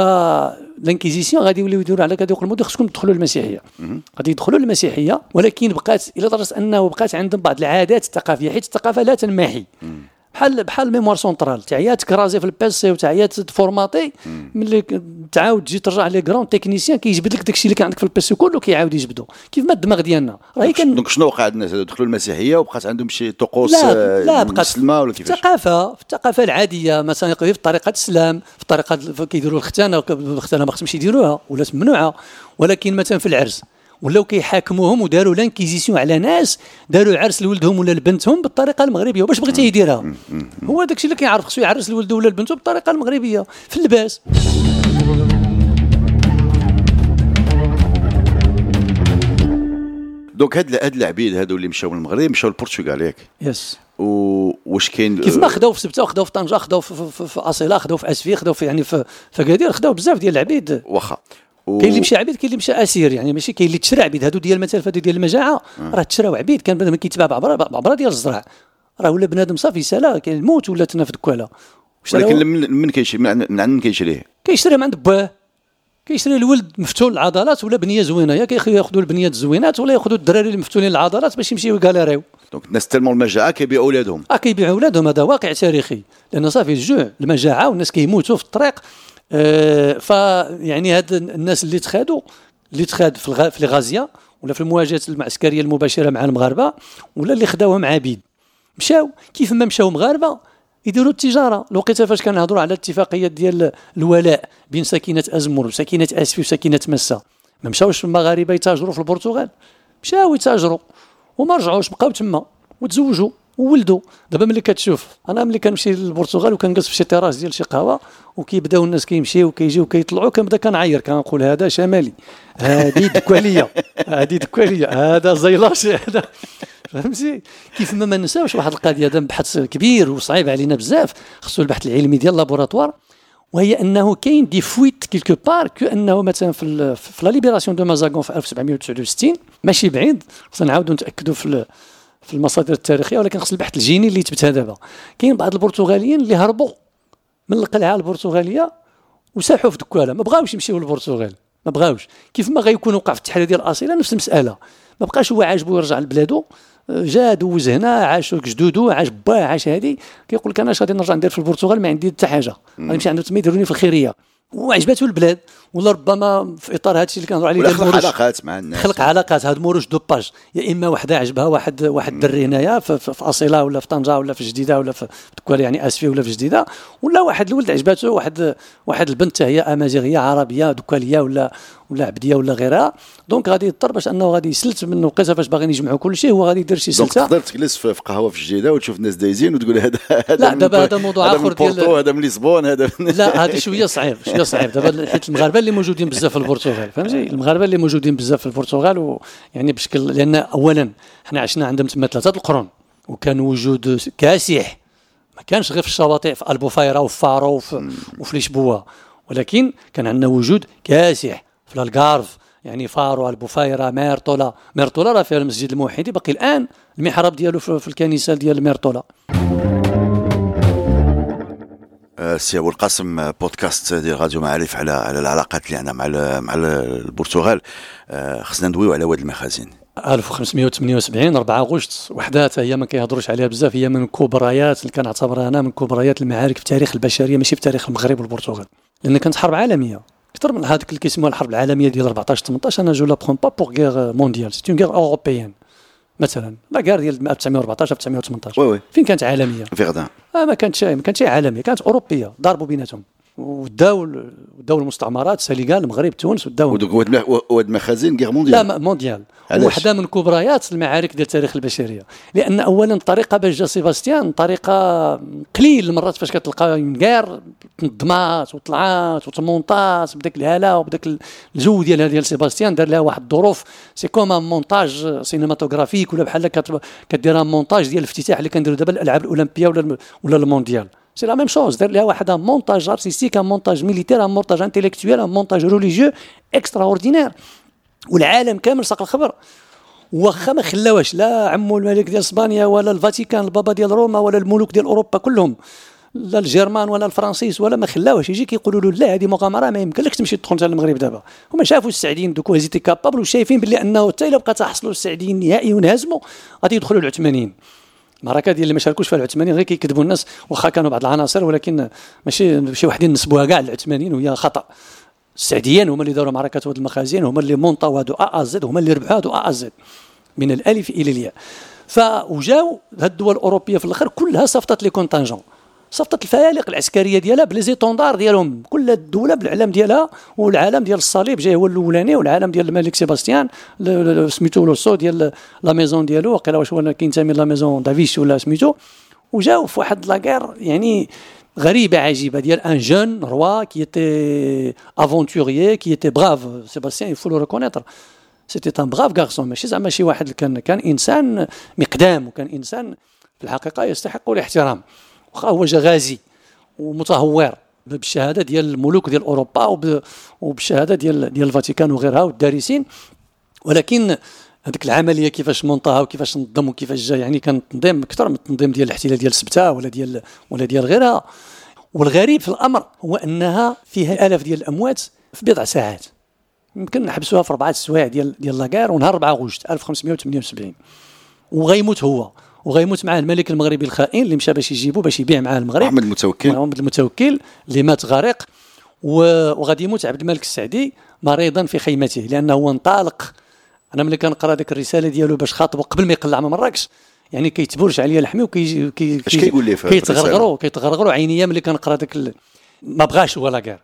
فالانكيزيسيون غادي يوليو يديروا على غادي يقول المودي خصكم تدخلوا للمسيحيه، غادي يدخلوا للمسيحيه، ولكن بقات الى درجه انه بقات عندهم بعض العادات الثقافيه، حيت الثقافه لا تنمحي. بحال بحال الميموار سونطرال تاع هي تكرازي في البيسي وتاع هي تفورماتي، ملي تعاود تجي ترجع لي كرون تكنيسيان كيجبد لك داكشي اللي كان عندك في البيسي كله كيعاود يجبدو كيف ما الدماغ ديالنا راهي كان. دونك شنو وقع الناس دخلوا المسيحيه وبقات عندهم شي طقوس لا بقات مسلمه ولا كيفاش؟ الثقافه في الثقافه العاديه مثلا في طريقه الاسلام، في طريقه كيديروا الختانه، الختانه ما خصهمش يديروها ولا ممنوعه، ولكن مثلا في العرس ولاو كيحاكموهم وداروا لانكيزيسيون على ناس داروا عرس لولدهم ولا لبنتهم بالطريقه المغربيه، وباش بغيتي يديرها هو داكشي اللي كيعرف خصو يعرس لولده ولا لبنته بالطريقه المغربيه في اللباس. دونك هاد هاد العبيد هادو اللي مشاو من المغرب مشاو للبرتغال ياك؟ يس. واش كاين كيف ما خداو في سبته وخداو في طنجه، خداو في, في, في اصيله، خداو في اسفي، خداو في يعني في فكادير، خداو بزاف ديال العبيد. واخا و... كاين اللي مشى عبيد، كاين اللي مشى اسير، يعني ماشي كاين اللي تشرى عبيد. هادو ديال مثلا هادو ديال المجاعه راه تشراو عبيد، كان بنادم كيتباع بعبره بعبره ديال الزرع، راه ولا بنادم صافي سالا كاين الموت ولا تنا في دكاله. ولكن من كيشري من عند من كيشريه؟ كيشري من عند باه، كيشري الولد مفتول العضلات ولا بنيه زوينه، يا كياخذوا البنيات الزوينات ولا ياخذوا الدراري اللي مفتولين العضلات باش يمشيو يكاليريو. دونك الناس تلموا المجاعه كيبيعوا اولادهم اه كيبيعوا اولادهم. هذا واقع تاريخي، لان صافي الجوع المجاعه والناس كيموتوا في الطريق. آه فيعني هاد الناس اللي تخادوا اللي تخاد في, الغ... في الغازيه ولا في المواجهات المعسكريه المباشره مع المغاربه، ولا اللي خداوهم عبيد، مشاو كيف ما مشاو مغاربه يديروا التجاره. الوقيته فاش كنهضروا على الاتفاقيات ديال الولاء بين ساكنه ازمر وساكنه اسفي وساكنه مسا، ما مشاوش المغاربه يتاجروا في البرتغال، مشاو يتاجروا وما رجعوش، بقاو تما وتزوجوا وولدوا. دابا ملي كتشوف انا ملي كنمشي للبرتغال وكنجلس في شي تيراس ديال شي قهوه وكيبداو الناس كيمشيو وكيجيو وكيطلعوا، كنبدا كنعير كنقول هذا شمالي، هذه دكواليه، هذه دكواليه، هذا زيلاشي، هذا فهمتي. كيف ما ما نساوش واحد القضيه هذا بحث كبير وصعيب علينا بزاف، خصو البحث العلمي ديال اللابوراتوار، وهي انه كاين دي فويت كيلكو بار، كانه مثلا في في لا ليبراسيون دو مازاغون في ألف وسبعمائة وتسعة وستين، ماشي بعيد، خصنا نعاودوا نتاكدوا في في المصادر التاريخيه، ولكن خص البحث الجيني اللي يثبتها دابا. كاين بعض البرتغاليين اللي هربوا من القلعه البرتغاليه وساحوا في دكاله، ما بغاوش يمشيو للبرتغال، ما بغاوش. كيف ما غيكون وقع في التحرير ديال الاصيله نفس المساله، ما بقاش هو عاجبو يرجع لبلادو، جا دوز هنا، عاش جدودو، عاش باه، عاش هادي، كيقول لك انا اش غادي نرجع ندير في البرتغال، ما عندي حتى حاجه، غادي نمشي عندهم تما يديروني في الخيريه، وعجبته البلاد، ولا ربما في اطار هذا الشيء اللي كنهضروا عليه، خلق علاقات مع الناس، خلق علاقات. هاد موروش دوباج، يا اما وحده عجبها واحد واحد الدري هنايا في, في, في اصيله ولا في طنجه ولا في جديده ولا في تكوال يعني اسفي ولا في جديده، ولا واحد الولد عجبته واحد واحد البنت هي امازيغيه عربيه دكواليه ولا ولا عبديه ولا غيرها، دونك غادي يضطر باش انه غادي يسلت من وقيته فاش باغيين يجمعوا كل شيء، هو غادي يدير شي سلسله. دونك تقدر تجلس في قهوه في جديده وتشوف الناس دايزين وتقول هذا هذا لا دابا هذا موضوع اخر ديال هذا من لشبون، هذا لا هذا شويه صعيب، شويه صعيب دابا، حيت المغاربه اللي موجودين بزاف في البرتغال، فهمتي، المغاربه اللي موجودين بزاف في البرتغال، ويعني بشكل، لان اولا حنا عشنا عندهم تما ثلاثه القرون، وكان وجود كاسح، ما كانش غير في الشواطئ في البوفايره وفي فارو وفي, وفي لشبوه، ولكن كان عندنا وجود كاسح في الغارف، يعني فارو، البوفايره، ميرطولا. ميرطولا راه فيها المسجد الموحدي باقي الان المحراب ديالو في الكنيسه ديال ميرطولا. سي ابو القاسم، بودكاست ديال راديو معارف على على العلاقات اللي عندنا مع مع البرتغال. خصنا ندويو على واد المخازن. ألف وخمسمائة وثمانية وسبعين أربعة غشت، وحده هي ما كيهضروش عليها بزاف، هي من كبريات اللي كنعتبرها انا من كبريات المعارك في تاريخ البشريه، ماشي في تاريخ المغرب والبرتغال، لان كانت حرب عالمية اكثر من هذيك اللي كيسموها الحرب العالميه ديال أربعطاش ثمنطاش. انا جو لا برون با بور غير مونديال، سي اون غير اوروبيان. مثلا لا غير ديال ألف وتسعمائة وأربعطاش ألف وتسعمائة وثمنطاش وي وي فين كانت عالميه؟ فيغدان. اه ما كانتش ما كانتش عالميه، كانت اوروبيه، ضربوا بيناتهم وداو وداو المستعمرات، سنغال، المغرب، تونس، وداو واد المخازن غير مونديال. لا مونديال، وحده من كبريات المعارك ديال تاريخ البشريه، لان اولا الطريقه باش جا سيباستيان طريقه قليل المرات فاش كتلقى غير تنظمات وطلعات وتمونطات بداك الهاله وبداك الجو ديال ديال سيباستيان، دار لها واحد الظروف، سي كوم ان مونتاج سينماتوغرافيك، ولا بحال كدير مونتاج ديال الافتتاح اللي كنديروا دابا الالعاب الاولمبيه ولا ولا المونديال، سي لا ميم شوز، دار لها واحد ان مونتاج ارتستيك، ان مونتاج ميليتير، ان مونتاج انتيليكتويل، ان مونتاج ريليجيو اكسترا اوردينير، والعالم كامل ساق الخبر. واخا ما خلاوش لا عمو الملك ديال اسبانيا ولا الفاتيكان البابا ديال روما ولا الملوك ديال اوروبا كلهم، لا الجيرمان ولا الفرنسيس ولا ما خلاوش، يجي كيقولوا له لا هذه مغامره ما يمكنلكش تمشي تدخل انت للمغرب دابا. هما شافوا السعديين دوك هزيتي كابابل، وشايفين باللي انه حتى الا بقى تحصلوا السعديين النهائي ونهزموا غادي يدخلوا العثمانيين. المعركه ديال اللي ما شاركوش فيها العثمانيين غير كيكذبوا الناس، واخا كانوا بعض العناصر، ولكن ماشي شي وحدين نسبوها كاع للعثمانيين وهي خطا. السعديين هما اللي داروا معركه واد المخازن، هما اللي مونطاو هادو ا زد، هما اللي ربحوا هادو ا زد من الالف الى الياء. فوجاو هاد الدول الاوروبيه في الاخر كلها صفطت لي كونتانجون، صفطت الفيالق العسكريه ديالها بلي زيتوندار ديالهم، كل الدوله بالعلم ديالها، والعلم ديال الصليب جاي هو الاولاني، والعلم ديال الملك سيباستيان سميتو لوسو ديال لا ميزون ديالو، وقيلا واش هو كينتمي لا ميزون دافيش ولا سميتو. وجاو في واحد لاغير يعني غريبه عجيبه ديال ان جون روا كي ايتي افونتوريي كي ايتي براف. سيباستيان يفو لو ريكونيتر، سيتي ان براف غارسون، ماشي زعما شي واحد كان كان انسان مقدام، وكان انسان في الحقيقه يستحق الاحترام، واخا هو جا غازي ومتهور بالشهاده ديال الملوك ديال اوروبا وبالشهاده ديال ديال الفاتيكان وغيرها والدارسين، ولكن هذيك العمليه كيفاش مونطاها وكيفاش نظم وكيفاش جا، يعني كان تنظيم اكثر من التنظيم ديال الاحتلال ديال سبته ولا ديال ولا ديال غيرها. والغريب في الامر هو انها فيها الاف ديال الاموات في بضع ساعات، يمكن نحبسوها في اربعه سوايع ديال ديال لاكار، ونهار أربعة غشت ألف وخمسمائة وثمانية وسبعين وغيموت هو وغيموت معاه الملك المغربي الخائن اللي مشى باش يجيبه باش يبيع معاه المغرب، محمد المتوكل محمد المتوكل اللي مات غارق. وغادي يموت عبد الملك السعدي مريضا في خيمته، لانه هو انطلق. انا ملي كنقرا ديك الرساله ديالو باش خاطبه قبل ما يقلع من مراكش، يعني كيتبرش عليا لحمي وكي كي اش كيقول لي في كيتغرغروا كيتغرغروا عينيا ملي كنقرا داك ال... ما بغاش هو لاكار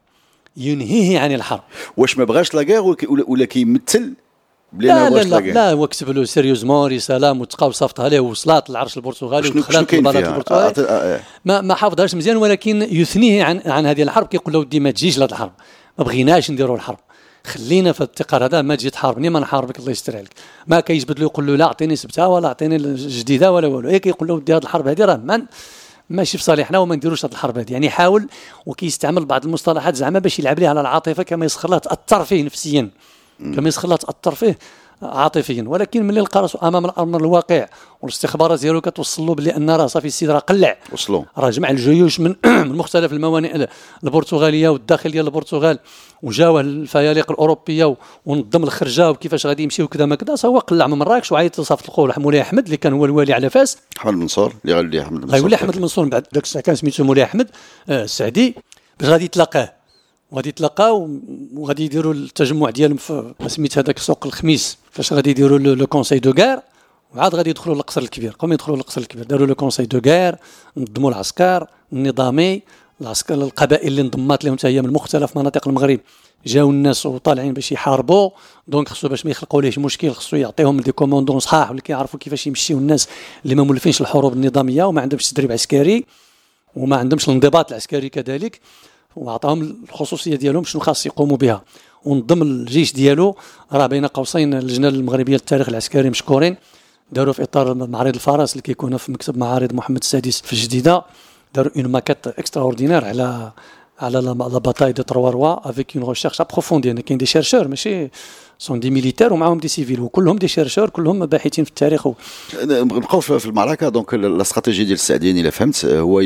ينهيه عن الحرب. واش ما بغاش لاكار ولا كيمثل بلي لا ما لا لا, لا هو كتب له سيريوزمون رساله متقا وصيفطها ليه ووصلات للعرش البرتغالي ودخلت البلد البرتغالي. ما ما حافظهاش مزيان، ولكن يثنيه عن عن هذه الحرب. كيقول له ودي ما تجيش لهذه الحرب، ما بغيناش نديروا الحرب، خلينا في التقار هذا، ما تجي تحاربني ما نحاربك الله يستر عليك. ما كيجبد له يقول له لا اعطيني سبتها ولا اعطيني جديده ولا والو. هي كيقول له ودي هذه الحرب هذه راه من ماشي في صالحنا وما نديروش هذه الحرب هذه. يعني حاول وكيستعمل بعض المصطلحات زعما باش يلعب ليها على العاطفه، كما يسخر لها تاثر فيه نفسيا، كما يسخر لها تاثر فيه عاطفيا. ولكن ملي لقى راسو امام الامر الواقع والاستخبارات ديالو كتوصل له بلي ان راه صافي السيد راه قلع، وصلوا راه جمع الجيوش من من مختلف الموانئ البرتغاليه والداخل ديال البرتغال، وجاوه الفيالق الاوروبيه ونظم الخرجه وكيفاش غادي يمشي وكذا ما كذا. هو قلع من مراكش وعيط لصافط القول مولاي احمد اللي كان هو الوالي على فاس، احمد المنصور اللي غيولي احمد المنصور، غيولي احمد المنصور بعد داك الساعه كان سميتو مولاي احمد السعدي، باش غادي يتلاقاه وغادي يتلاقاو وغادي يديروا التجمع ديالهم في سميت هذاك سوق الخميس، فاش غادي يديروا لو كونساي دو غار، وعاد غادي يدخلوا للقصر الكبير. قوم يدخلوا للقصر الكبير، داروا لو كونساي دو غار، نظموا العسكر النظامي، العسكر القبائل اللي انضمات لهم حتى هي من مختلف مناطق المغرب، جاوا الناس وطالعين باش يحاربوا. دونك خصو باش ما يخلقوا ليش مشكل خصو يعطيهم دي كوموندون صحاح واللي كيعرفوا كيفاش يمشيوا الناس اللي ما مولفينش الحروب النظاميه وما عندهمش تدريب عسكري وما عندهمش الانضباط العسكري كذلك، وعطاهم الخصوصيه ديالهم شنو خاص يقوموا بها. ونضم الجيش ديالو راه بين قوسين اللجنه المغربيه للتاريخ العسكري مشكورين، داروا في اطار معرض الفرس اللي كيكون في مكتب معارض محمد السادس في الجديده، داروا اون ماكيت اكسترا اوردينير على على لا باتاي دو ترواروا افيك اون ريشيرش ابروفوندي. يعني كاين دي شيرشور ماشي سون دي ميليتير ومعهم دي سيفيل وكلهم دي شيرشور كلهم باحثين في التاريخ. نبقاو في المعركه. دونك لا استراتيجيه ديال السعديين الا فهمت هو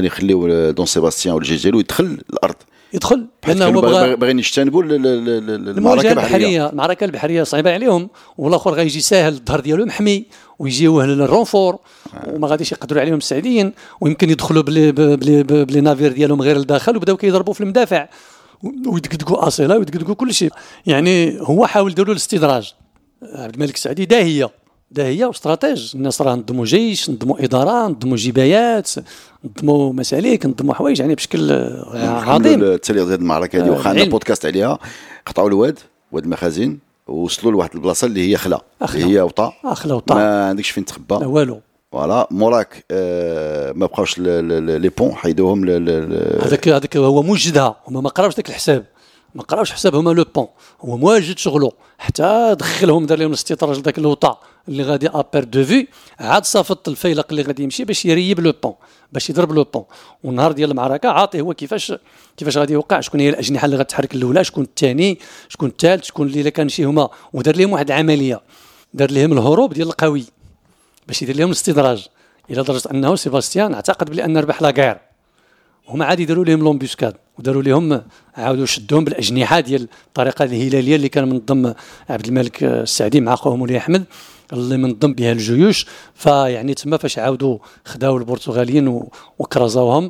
يخليو دون سيباستيان والجيش ديالو يدخل الارض، يدخل لانه هو بغى باغيين يجتنبوا المعركه البحريه. المعركه البحريه صعيبه عليهم، والاخر غيجي ساهل الظهر ديالو محمي ويجيوه للرونفور وما غاديش يقدروا عليهم السعديين، ويمكن يدخلوا بلي بلي بلي نافير ديالهم غير لداخل وبداو كيضربوا في المدافع ويدقدقوا اصيله ويدقدقوا كل شيء. يعني هو حاول يديروا الاستدراج. عبد الملك السعدي داهيه داهيه واستراتيج. الناس راه نظموا جيش، نظموا اداره، نظموا جبايات، نظموا مسالك، نظموا حوايج يعني بشكل عظيم. التالي هذه المعركه هذه واخا عندنا بودكاست عليها، قطعوا الواد واد المخازن ووصلوا لواحد البلاصه اللي هي خلا، اللي هي وطا اخلا وطا، ما عندكش فين تخبى لا والو. فوالا موراك آه ما بقاوش لي بون حيدوهم. هذاك هذاك هو موجدها، هما ما قراوش داك الحساب، ما قراوش حساب هما لو بون، هو مواجد شغله حتى دخلهم دار لهم الاستطراج لذاك الوطا اللي غادي ابير دو في، عاد صافط الفيلق اللي غادي يمشي باش يريب لو بون، باش يضرب لو بون. والنهار ديال المعركه عاطي هو كيفاش كيفاش غادي يوقع، شكون هي الاجنحه اللي غتحرك الاولى، شكون الثاني، شكون الثالث، شكون اللي كان شي هما. ودار لهم واحد العمليه، دار لهم الهروب ديال القوي باش يدير لهم الاستدراج، الى درجه انه سيباستيان اعتقد بلي ان ربح لاكار. هما عاد يديروا لهم لومبيسكاد وداروا لهم عاودوا شدوهم بالاجنحه ديال الطريقه الهلاليه اللي كان منظم عبد الملك السعدي مع خوه مولاي احمد اللي منظم بها الجيوش. فيعني تما فاش عاودوا خداو البرتغاليين وكرزوهم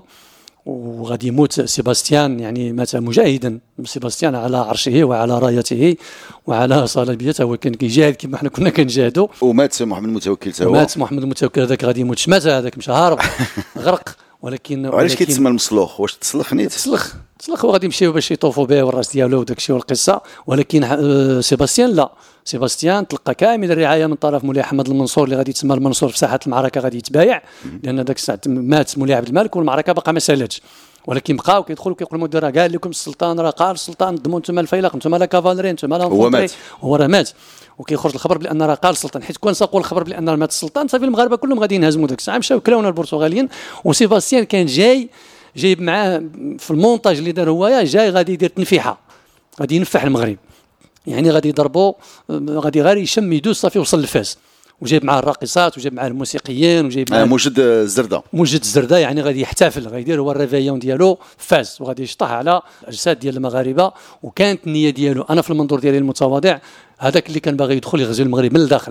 وغادي يموت سيباستيان، يعني مات مجاهدا سيباستيان على عرشه وعلى رايته وعلى صليبيته، هو كان كيجاهد كما حنا كنا كنجاهدوا. ومات محمد المتوكل تا هو، مات محمد المتوكل هذاك غادي يموت شمات، هذاك مش هارب غرق. ولكن علاش كيتسمى المسلوخ؟ واش تسلخ نيت؟ تسلخ تسلخ وغادي يمشيو باش يطوفوا به والراس ديالو وداك الشيء والقصه. ولكن سيباستيان لا، سيباستيان تلقى كامل الرعايه من طرف مولاي احمد المنصور اللي غادي يتسمى المنصور في ساحه المعركه، غادي يتبايع لان داك الساعه مات مولاي عبد الملك والمعركه باقا ما سالاتش. ولكن بقاو كيدخلوا كيقولوا المدير راه قال لكم السلطان، راه قال السلطان ضموا انتم الفيلق، انتم لا كافالري، انتم لا هو مات، هو راه مات. وكيخرج الخبر بان راه قال السلطان، حيت كون ساقوا الخبر بان مات السلطان صافي المغاربه كلهم غادي ينهزموا داك الساعه. مشاو كلاونا البرتغاليين. وسيباستيان كان جاي جايب معاه في المونتاج اللي دار هو جاي غادي يدير تنفيحه، غادي ينفح المغرب، يعني غادي يضربوا، غادي غير يشم يدوز صافي وصل لفاس. وجايب معاه الراقصات وجايب معاه الموسيقيين وجايب معاه موجد الزرده موجد الزرده، يعني غادي يحتفل، غيدير هو الريفيون ديالو فاس وغادي يشطح على اجساد ديال المغاربه. وكانت النيه ديالو انا في المنظور ديالي المتواضع، هذاك اللي كان باغي يدخل يغزو المغرب من الداخل،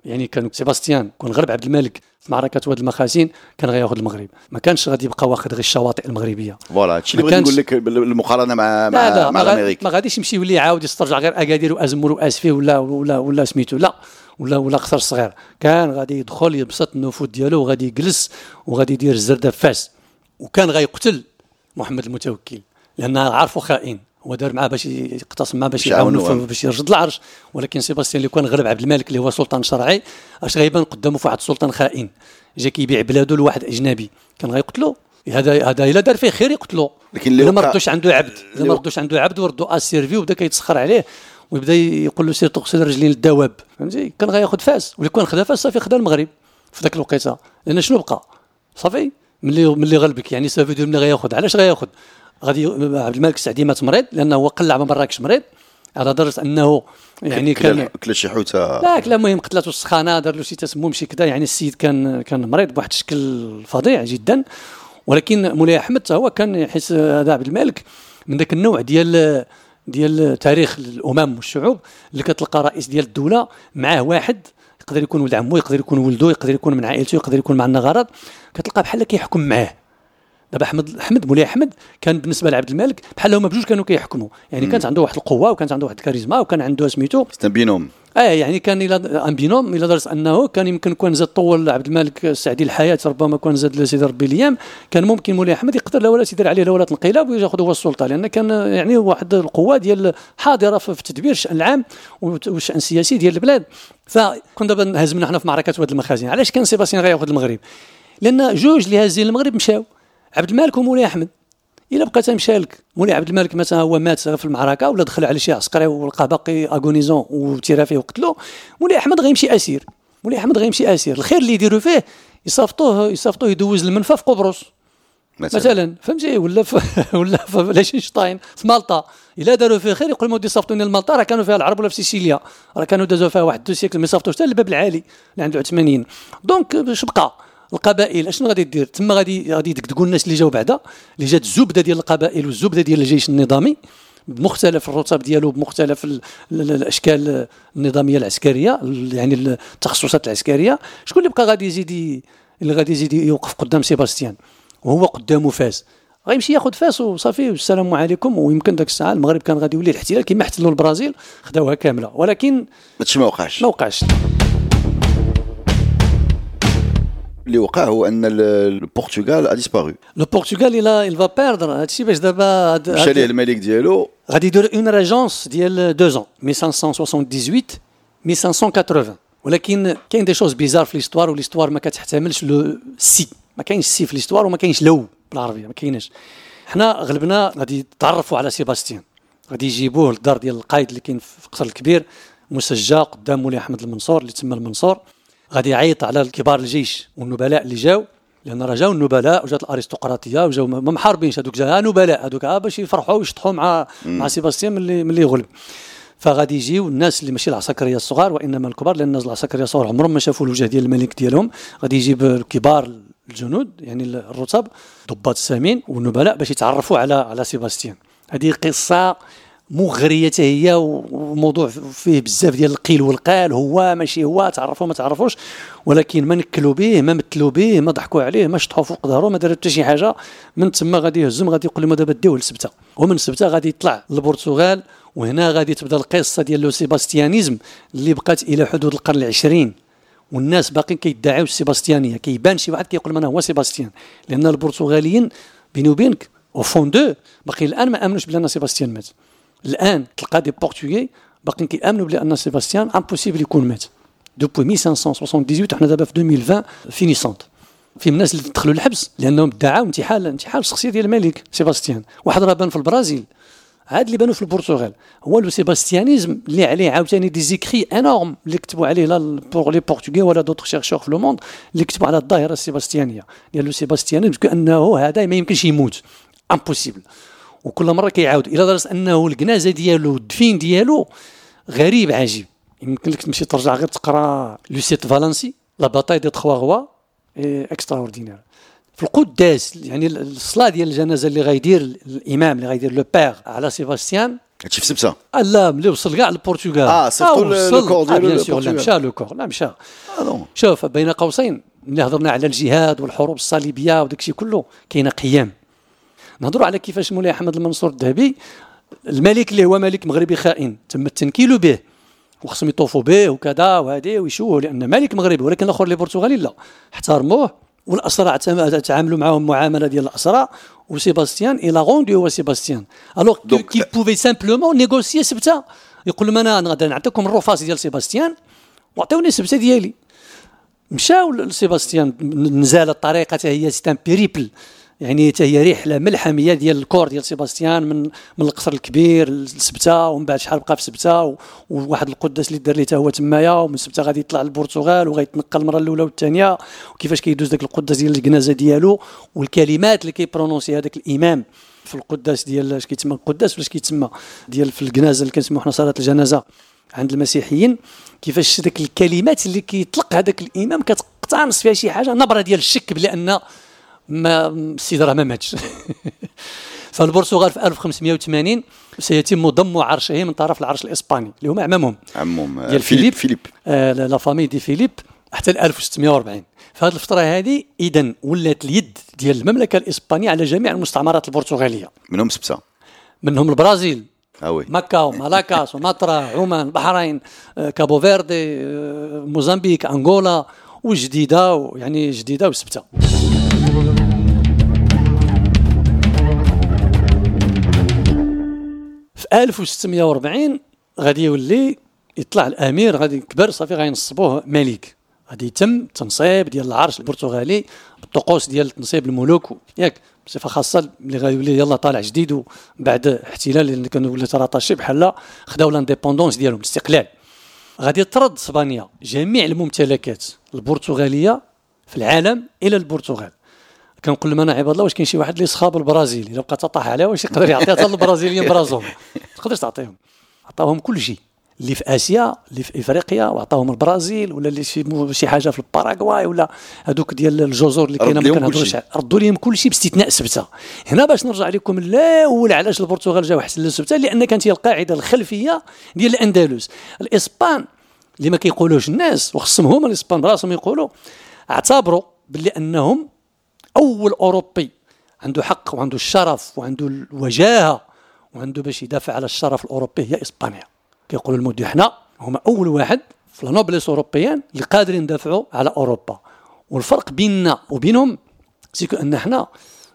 يعني كان سيباستيان كون غلب عبد الملك في معركه واد المخازين كان غياخذ المغرب، ما كانش غادي يبقى واخد غير الشواطئ المغربيه. فوالا هادشي اللي بغيت نقول لك المقارنه مع مع, لا لا مع الامريك ما غاديش يمشي يولي يعاود يسترجع غير اكادير وازمر واسفي ولا ولا ولا سميتو لا ولا ولا قصر صغير، كان غادي يدخل يبسط النفوذ ديالو وغادي يجلس وغادي يدير الزرده فاس، وكان غيقتل محمد المتوكل لان عارفه خائن، هو دار معاه باش يقتصم معاه باش يعاونو باش يرجد العرش. ولكن سيباستيان اللي كان غلب عبد الملك اللي هو سلطان شرعي اش غيبان قدامه في واحد السلطان خائن جا كيبيع بلاده لواحد اجنبي، كان غيقتلو. هذا هذا الا دار فيه خير يقتلو، لكن الا ما ردوش عنده عبد الا ما ردوش عنده عبد وردوا اسيرفي وبدا كيتسخر عليه ويبدا يقول له سير تغسل رجلين الدواب، فهمتي؟ كان غياخذ فاس، ولا كان خدا فاس صافي خدا المغرب في ذاك الوقيته، لان شنو بقى صافي ملي ملي غلبك يعني صافي دير ملي غياخذ. علاش غياخذ؟ غادي عبد الملك السعدي مات مريض لانه هو قلع من مراكش مريض على درجه انه يعني كان كل شي حوته لا كلا المهم قتلته السخانه، دار له شي تسمم شي كذا، يعني السيد كان كان مريض بواحد الشكل فظيع جدا. ولكن مولاي احمد هو كان يحس هذا عبد الملك من ذاك النوع ديال ديال تاريخ الامم والشعوب اللي كتلقى رئيس ديال الدوله معاه واحد يقدر يكون ولد عمو، يقدر يكون ولده، يقدر يكون من عائلته، يقدر يكون مع النغارات، كتلقى بحال كيحكم معاه. دابا احمد احمد مولاي احمد كان بالنسبه لعبد الملك بحال هما بجوج كانوا كيحكموا، يعني كانت عنده واحد القوه وكانت عنده واحد الكاريزما وكان عنده سميتو بينوم. اه يعني كان الى ان بينوم الى درجه انه كان يمكن كون زاد طول عبد الملك السعدي الحياه، ربما كون زاد لسيدي ربي الايام، كان ممكن مولاي احمد يقدر لا ولا يدير عليه لا ولا انقلاب وياخذ هو السلطه، لان كان يعني واحد القوه ديال حاضره في تدبير الشان العام والشان السياسي ديال البلاد. فكون دابا هزمنا حنا في معركه واد المخازن. علاش كان سيباستيان غياخذ المغرب؟ لان جوج اللي هازين المغرب مشاو، عبد الملك ومولاي احمد. الا بقى تمشى لك مولاي عبد الملك مثلا هو مات في المعركه ولا دخل على شي عسكري ولقى باقي اغونيزون وتيرا فيه وقتلو، مولاي احمد غيمشي اسير. مولاي احمد غيمشي اسير، الخير اللي يديروا فيه يصيفطوه يصيفطوه يدوز المنفى في قبرص مثلا, مثلا. فهمتي؟ ولا في ولا في لاشنشتاين في مالطا، الا داروا فيه خير يقول مودي صيفطوني لمالطا، راه كانوا فيها العرب ولا في سيسيليا، راه كانوا دازوا فيها واحد دو سيكل ما يصيفطوش حتى للباب العالي اللي عنده ثمانين. دونك باش بقى القبائل اشنو غادي دير تما؟ غادي غادي يدقدقوا الناس اللي جاوا بعدا، اللي جات الزبده ديال القبائل والزبده ديال الجيش النظامي بمختلف الرتب ديالو بمختلف الاشكال النظاميه العسكريه، يعني التخصصات العسكريه. شكون اللي بقى غادي يزيد اللي غادي يزيد يوقف قدام سيباستيان وهو قدامه فاس؟ غيمشي ياخذ فاس وصافي والسلام عليكم. ويمكن داك الساعه المغرب كان غادي يولي الاحتلال كما احتلوا البرازيل خداوها كامله، ولكن هادشي ما وقعش ما وقعش. اللي وقع هو ان البرتغال ا ديسبارو. لو برتغال الى il va perdre هادشي باش دابا مشى ليه الملك ديالو غادي يدير اون ريجونس ديال دو زون ألف وخمسمائة وثمانية وستين ألف وخمسمائة وثمانين. ولكن كاين دي شوز بيزار في ليستوار، وليستوار ما كتحتملش لو سي، ما كاينش سي في ليستوار وما كاينش لو بالعربيه، ما كايناش. حنا غلبنا غادي يتعرفوا على سيباستيان، غادي يجيبوه للدار ديال القائد اللي كاين في القصر الكبير مسجى قدام مولاي احمد المنصور اللي تسمى المنصور. غادي يعيط على الكبار الجيش والنبلاء اللي جاو، لان راه جاو النبلاء وجات الارستقراطيه وجاو ما محاربينش، هذوك جا نبلاء هذوك باش يفرحوا ويشطحوا مع مم. مع سيباستيان ملي ملي يغلب. فغادي يجيو الناس اللي ماشي العساكريه الصغار وانما الكبار، لان الناس العساكريه الصغار عمرهم ما شافوا الوجه ديال الملك ديالهم. غادي يجيب الكبار الجنود يعني الرتب ضباط السامين والنبلاء باش يتعرفوا على على سيباستيان. هذه قصه مغريه هي، وموضوع فيه بزاف ديال القيل والقال، هو ماشي هو، تعرفوا ما تعرفوش، ولكن ما نكلوا به ما مثلوا به ما ضحكوا عليه ما شطحوا فوق ظهره ما داروا حتى شي حاجه. من تما غادي يهزم، غادي يقول لهم دابا ديوه لسبته، ومن سبته غادي يطلع للبرتغال. وهنا غادي تبدا القصه ديال لو سيباستيانيزم اللي بقات الى حدود القرن العشرين، والناس باقيين كيدعيو السيباستيانيه. كيبان شي واحد كيقول انا هو سيباستيان، لان البرتغاليين بيني وبينك او فون دو باقي الان ما امنوش بلي سيباستيان مات. الان تلقى دي بورتوغي باقيين كيامنوا بلي ان سيباستيان امبوسيبل يكون مات دوبوي ألف وخمسمائة وثمانية وسبعين. حنا دابا في ألفين وعشرين فينيسونت في الناس اللي دخلوا للحبس لانهم ادعوا انتحال انتحال الشخصيه ديال الملك سيباستيان. واحد راه بان في البرازيل، عاد اللي بانوا في البرتغال هو لو سيباستيانيزم اللي عليه عاوتاني دي زيكري انورم اللي كتبوا عليه لا بور لي بورتوغي ولا دوطر شيرشور في لو موند اللي كتبوا على الظاهره السيباستيانيه ديال لو سيباستيانيزم كانه هذا ما يمكنش يموت امبوسيبل. وكل مره كيعاود الى درجه انه الجنازه ديالو الدفين ديالو غريب عجيب. يمكن لك تمشي ترجع غير تقرا لوسيت فالنسي لا باتاي دي تخوا غوا اكسترا اوردينير في القداس، يعني الصلاه ديال الجنازه اللي غيدير الامام اللي غيدير لو بير على سيباستيان هادشي في سبته آه لا ملي وصل كاع للبرتغال اه صيفطوا لو كور ديالو لا مشى لو كور لا مشى آه شوف بين قوسين ملي هضرنا على الجهاد والحروب الصليبيه وداكشي كله كاينه قيام. نهضروا على كيفاش مولاي احمد المنصور الذهبي الملك اللي هو ملك مغربي خائن تم التنكيل به وخصهم يطوفوا به وكذا وهذه ويشوه لان ملك مغربي، ولكن الاخر اللي برتغالي لا احترموه والاسرى تعاملوا معهم معامله ديال الاسرى. وسيباستيان الى غوندي هو سيباستيان الوغ كي بوفي سامبلومون نيغوسيي سبته يقول لهم انا غادي نعطيكم الرفاس ديال سيباستيان وعطيوني السبته ديالي. مشاو لسيباستيان نزال الطريقه حتى هي ستان بيريبل يعني حتى هي رحله ملحميه ديال الكور ديال سيباستيان من من القصر الكبير لسبته ومن بعد شحال بقى في سبته وواحد القداس اللي دار ليه حتى هو تمايا ومن سبته غادي يطلع للبرتغال وغيتنقل المره الاولى والثانيه وكيفاش كيدوز داك القداس ديال الجنازه ديالو والكلمات اللي كيبرونونسي هذاك الامام في القداس ديال اش كيتسمى القداس ولا كيتسمى ديال في الجنازه اللي كنسموها حنا صلاه الجنازه عند المسيحيين كيفاش داك الكلمات اللي كيطلق هذاك الامام كتقتنص فيها شي حاجه نبره ديال الشك بان ما السيد راه ما ماتش. فالبرتغال في ألف وخمسمائة وثمانين سيتم ضم عرشه من طرف العرش الاسباني اللي هما عمامهم عمهم ديال فيليب فيليب آه لا فامي دي فيليب حتى ل ألف وستمائة وأربعين. في هذه الفتره هذه اذا ولات اليد ديال المملكه الاسبانيه على جميع المستعمرات البرتغاليه منهم سبته منهم البرازيل آوي. مكة ومالاكا سومطرة عمان البحرين كابو فيردي موزمبيق أنغولا وجديدة يعني جديدة وسبتة. في ألف وستمائة وأربعين غادي يولي يطلع الأمير غادي يكبر صافي غينصبوه ملك غادي يتم تنصيب ديال العرش البرتغالي بالطقوس ديال تنصيب الملوك ياك بصفه خاصه اللي غيولي يلا طالع جديد وبعد احتلال اللي كانوا ولا تراطاشي بحال خداو لانديبوندونس ديالهم الاستقلال. غادي ترد اسبانيا جميع الممتلكات البرتغاليه في العالم الى البرتغال. كنقول لهم انا عباد الله واش كاين شي واحد اللي صخاب البرازيل الا بقى تطاح عليه واش يقدر يعطيها حتى البرازيليين برازهم تقدرش تعطيهم. عطاوهم كل شيء اللي في اسيا اللي في افريقيا وعطاهم البرازيل ولا اللي شي شي حاجه في الباراغواي ولا هذوك ديال الجزر اللي كاينه ما كنهضروش ردوا لهم كل شيء باستثناء سبته. هنا باش نرجع لكم الاول علاش البرتغال جاو احسن لسبته لان كانت هي القاعده الخلفيه ديال الاندلس. الاسبان اللي ما كيقولوش الناس وخصهم هما الاسبان براسهم يقولوا اعتبروا باللي انهم اول اوروبي عنده حق وعنده الشرف وعنده الوجاهه وعنده باش يدافع على الشرف الاوروبي هي اسبانيا. كيقولوا المودي حنا هما اول واحد في لانوبليس اوروبيان اللي قادرين ندافعوا على اوروبا. والفرق بيننا وبينهم سيكو ان حنا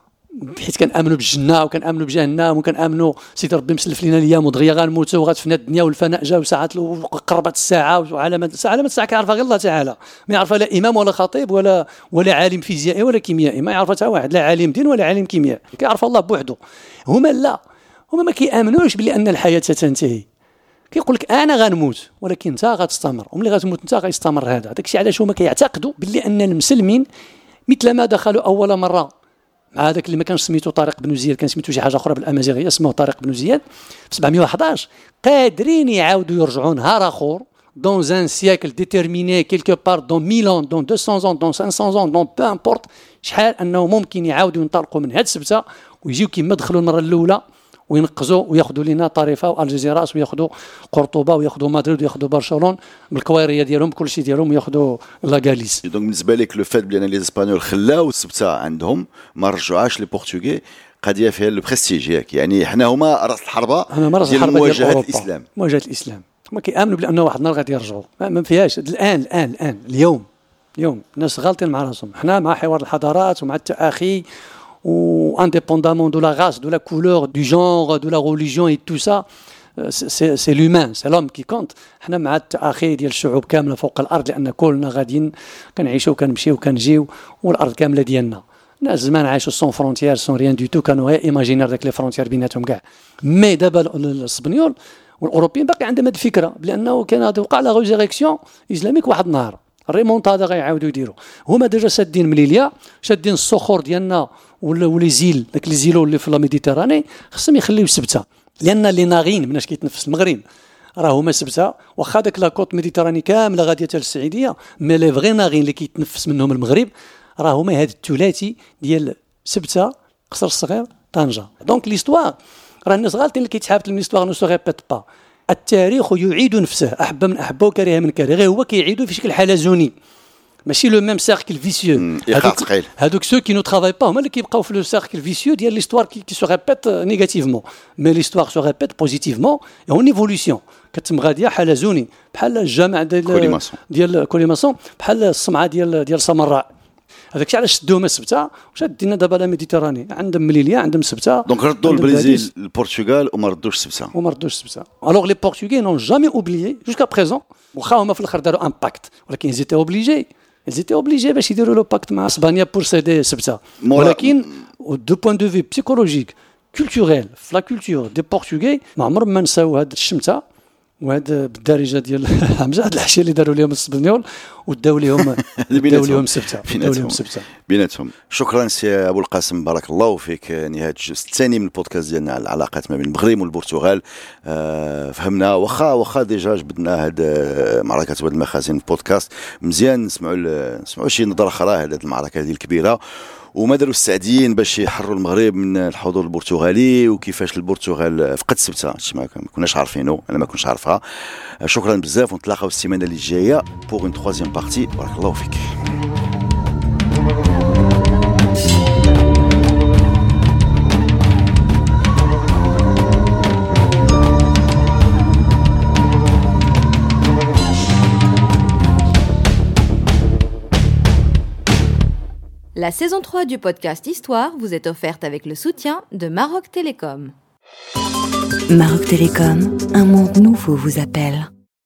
حيت كنامنوا بالجنه وكنامنوا بجهنم وكنامنوا سيدي ربي مسلف لينا الايام ودغيا غنموتوا وغتفنى الدنيا والفناء جا وساعات قربت الساعه وعلامه علامه الساعه كيعرفها غير الله تعالى ما يعرفها لا امام ولا خطيب ولا ولا عالم فيزيائي ولا كيميائي ما يعرفها حتى واحد لا عالم دين ولا عالم كيمياء كيعرف الله بوحده. هما لا هما ما كيامنوش بلي ان الحياه ستنتهي كيقول لك انا غنموت ولكن انت غتستمر وملي غتموت انت غيستمر هذا. داكشي علاش هما كيعتقدوا باللي ان المسلمين مثل ما دخلوا اول مره مع هذاك اللي ما كانش سميتو طارق بن زياد كان سميتو شي حاجه اخرى بالامازيغيه اسمه طارق بن زياد في سبعمائة وأحد قادرين يعاودوا يرجعوا نهار اخر dans un siècle déterminé quelque part dans mille ans dans deux cents ans dans cinq cents ans dans peu importe شحال انه ممكن يعاودوا ينطلقوا من هاد السبته ويجيو كما دخلوا المره الاولى وينقزوا وياخذوا لنا طريفه والجزيرات وياخذوا قرطبه وياخذوا مدريد وياخذوا برشلونه بالكويريه ديالهم كل شيء ديالهم وياخذوا لا غاليس. دونك بالنسبه لك لو فات بلي لي اسبانيول خلاو السبته عندهم ما رجعوهاش لي بورتوغي قضيه فيها لو بريستيج ياك يعني حنا هما راس الحربه ديال مواجهه الاسلام مواجهه الاسلام. هما كيامنوا بانه واحد النهار غادي يرجعوا ما فيهاش الان الان الان اليوم اليوم الناس غالطين مع راسهم. حنا مع حوار الحضارات ومع التآخي ou indépendamment de la race, de la couleur, du genre, de la religion et tout ça, c'est, c'est l'humain, c'est l'homme qui compte. حنا مع التآخي ديال الشعوب كامله فوق الارض لان كلنا غاديين كنعيشوا وكنمشيو وكنجيو والارض كامله ديالنا. الناس زمان عاشوا سون فرونتيير سون ريان دو تو كانوا غير ايماجينير داك لي فرونتيير بيناتهم كاع. مي دابا الاسبانيول والاوروبيين باقي عندهم هذه الفكره بانه كان غادي يوقع لا ريزيريكسيون اسلاميك واحد النهار الريمونتادا غيعاودوا يديروا. هما ديجا شادين من ليليا شادين الصخور ديالنا ولا ولي زيل داك لي زيلو اللي في لا ميديتيراني خصهم يخليو سبته لان لي ناغين مناش كيتنفس المغرب راه هما سبته واخا داك لا كوت ميديتيراني كامله غاديه حتى للسعيديه مي لي فغي ناغين اللي كيتنفس منهم المغرب راه هما هذا الثلاثي ديال سبته قصر الصغير طنجه. دونك ليستوار راه الناس غالطين اللي كيتحابط ليستواغ نو سو ريبيت با. التاريخ يعيد نفسه، احب من احبه وكره من كره، غير هو كيعيدو في شكل حلزوني ماشي لو ميم سيركل فيسيو. هذوك هذوك سو كي نو ترافاي با هما اللي كيبقاو في لو سيركل فيسيو ديال ليستوار كي سو ريبيت نيجاتيفمون، مي ليستوار سو ريبيت بوزيتيفمون اون ايفولوسيون كتم غاديه حلزوني بحال الجامع ديال ديال كوليماسون، بحال الصمعه ديال ديال سامراء. هذاك الشيء علاش شدوهم سبته وشادينا دابا لا ميديتيراني، عندهم مليليه عندهم سبته. دونك ردوا البرازيل البرتغال وما ردوش سبته وما ردوش سبته. الوغ لي بورتوغي نون جامي اوبليي جوسكا بريزون، واخا هما في الاخر داروا ان باكت ولكن زيتي اوبليجي زيتي اوبليجي باش يديروا لو باكت مع اسبانيا بور سيدي سبته. ولكن دو بوين دو في بسيكولوجيك كولتوريل في لا كولتور دي بورتوغي ما عمرهم ما نساو هاد الشمته وهذا بالدارجه ديال حمزه، هاد الحشيه اللي داروا لهم السبنيول وداو لهم داو لهم سبته داو لهم سبته بيناتهم. شكرا سي ابو القاسم، بارك الله فيك. نهايه الجزء الثاني من البودكاست ديالنا على العلاقات ما بين المغرب والبرتغال. أه فهمنا واخا واخا ديجا جبدنا هاد معركه واد المخازن في البودكاست مزيان، نسمعوا نسمعوا شي نظره اخرى على هاد المعركه هذه الكبيره، وما داروا السعديين باش يحرروا المغرب من الحضور البرتغالي، وكيفاش البرتغال فقد سبته هادشي ما كناش عارفينه، انا ما كنتش عارفها. شكرا بزاف، ونتلاقاو السيمانه اللي جايه بوغ اون troisième بارتي. بارك الله فيك. La saison trois du podcast Histoire vous est offerte avec le soutien de Maroc Télécom. Maroc Télécom, un monde nouveau vous appelle.